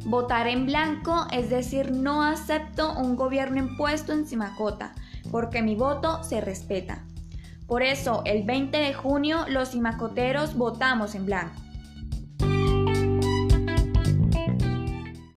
Votar en blanco es decir, no acepto un gobierno impuesto en Simacota, porque mi voto se respeta. Por eso, el 20 de junio, los simacoteros votamos en blanco.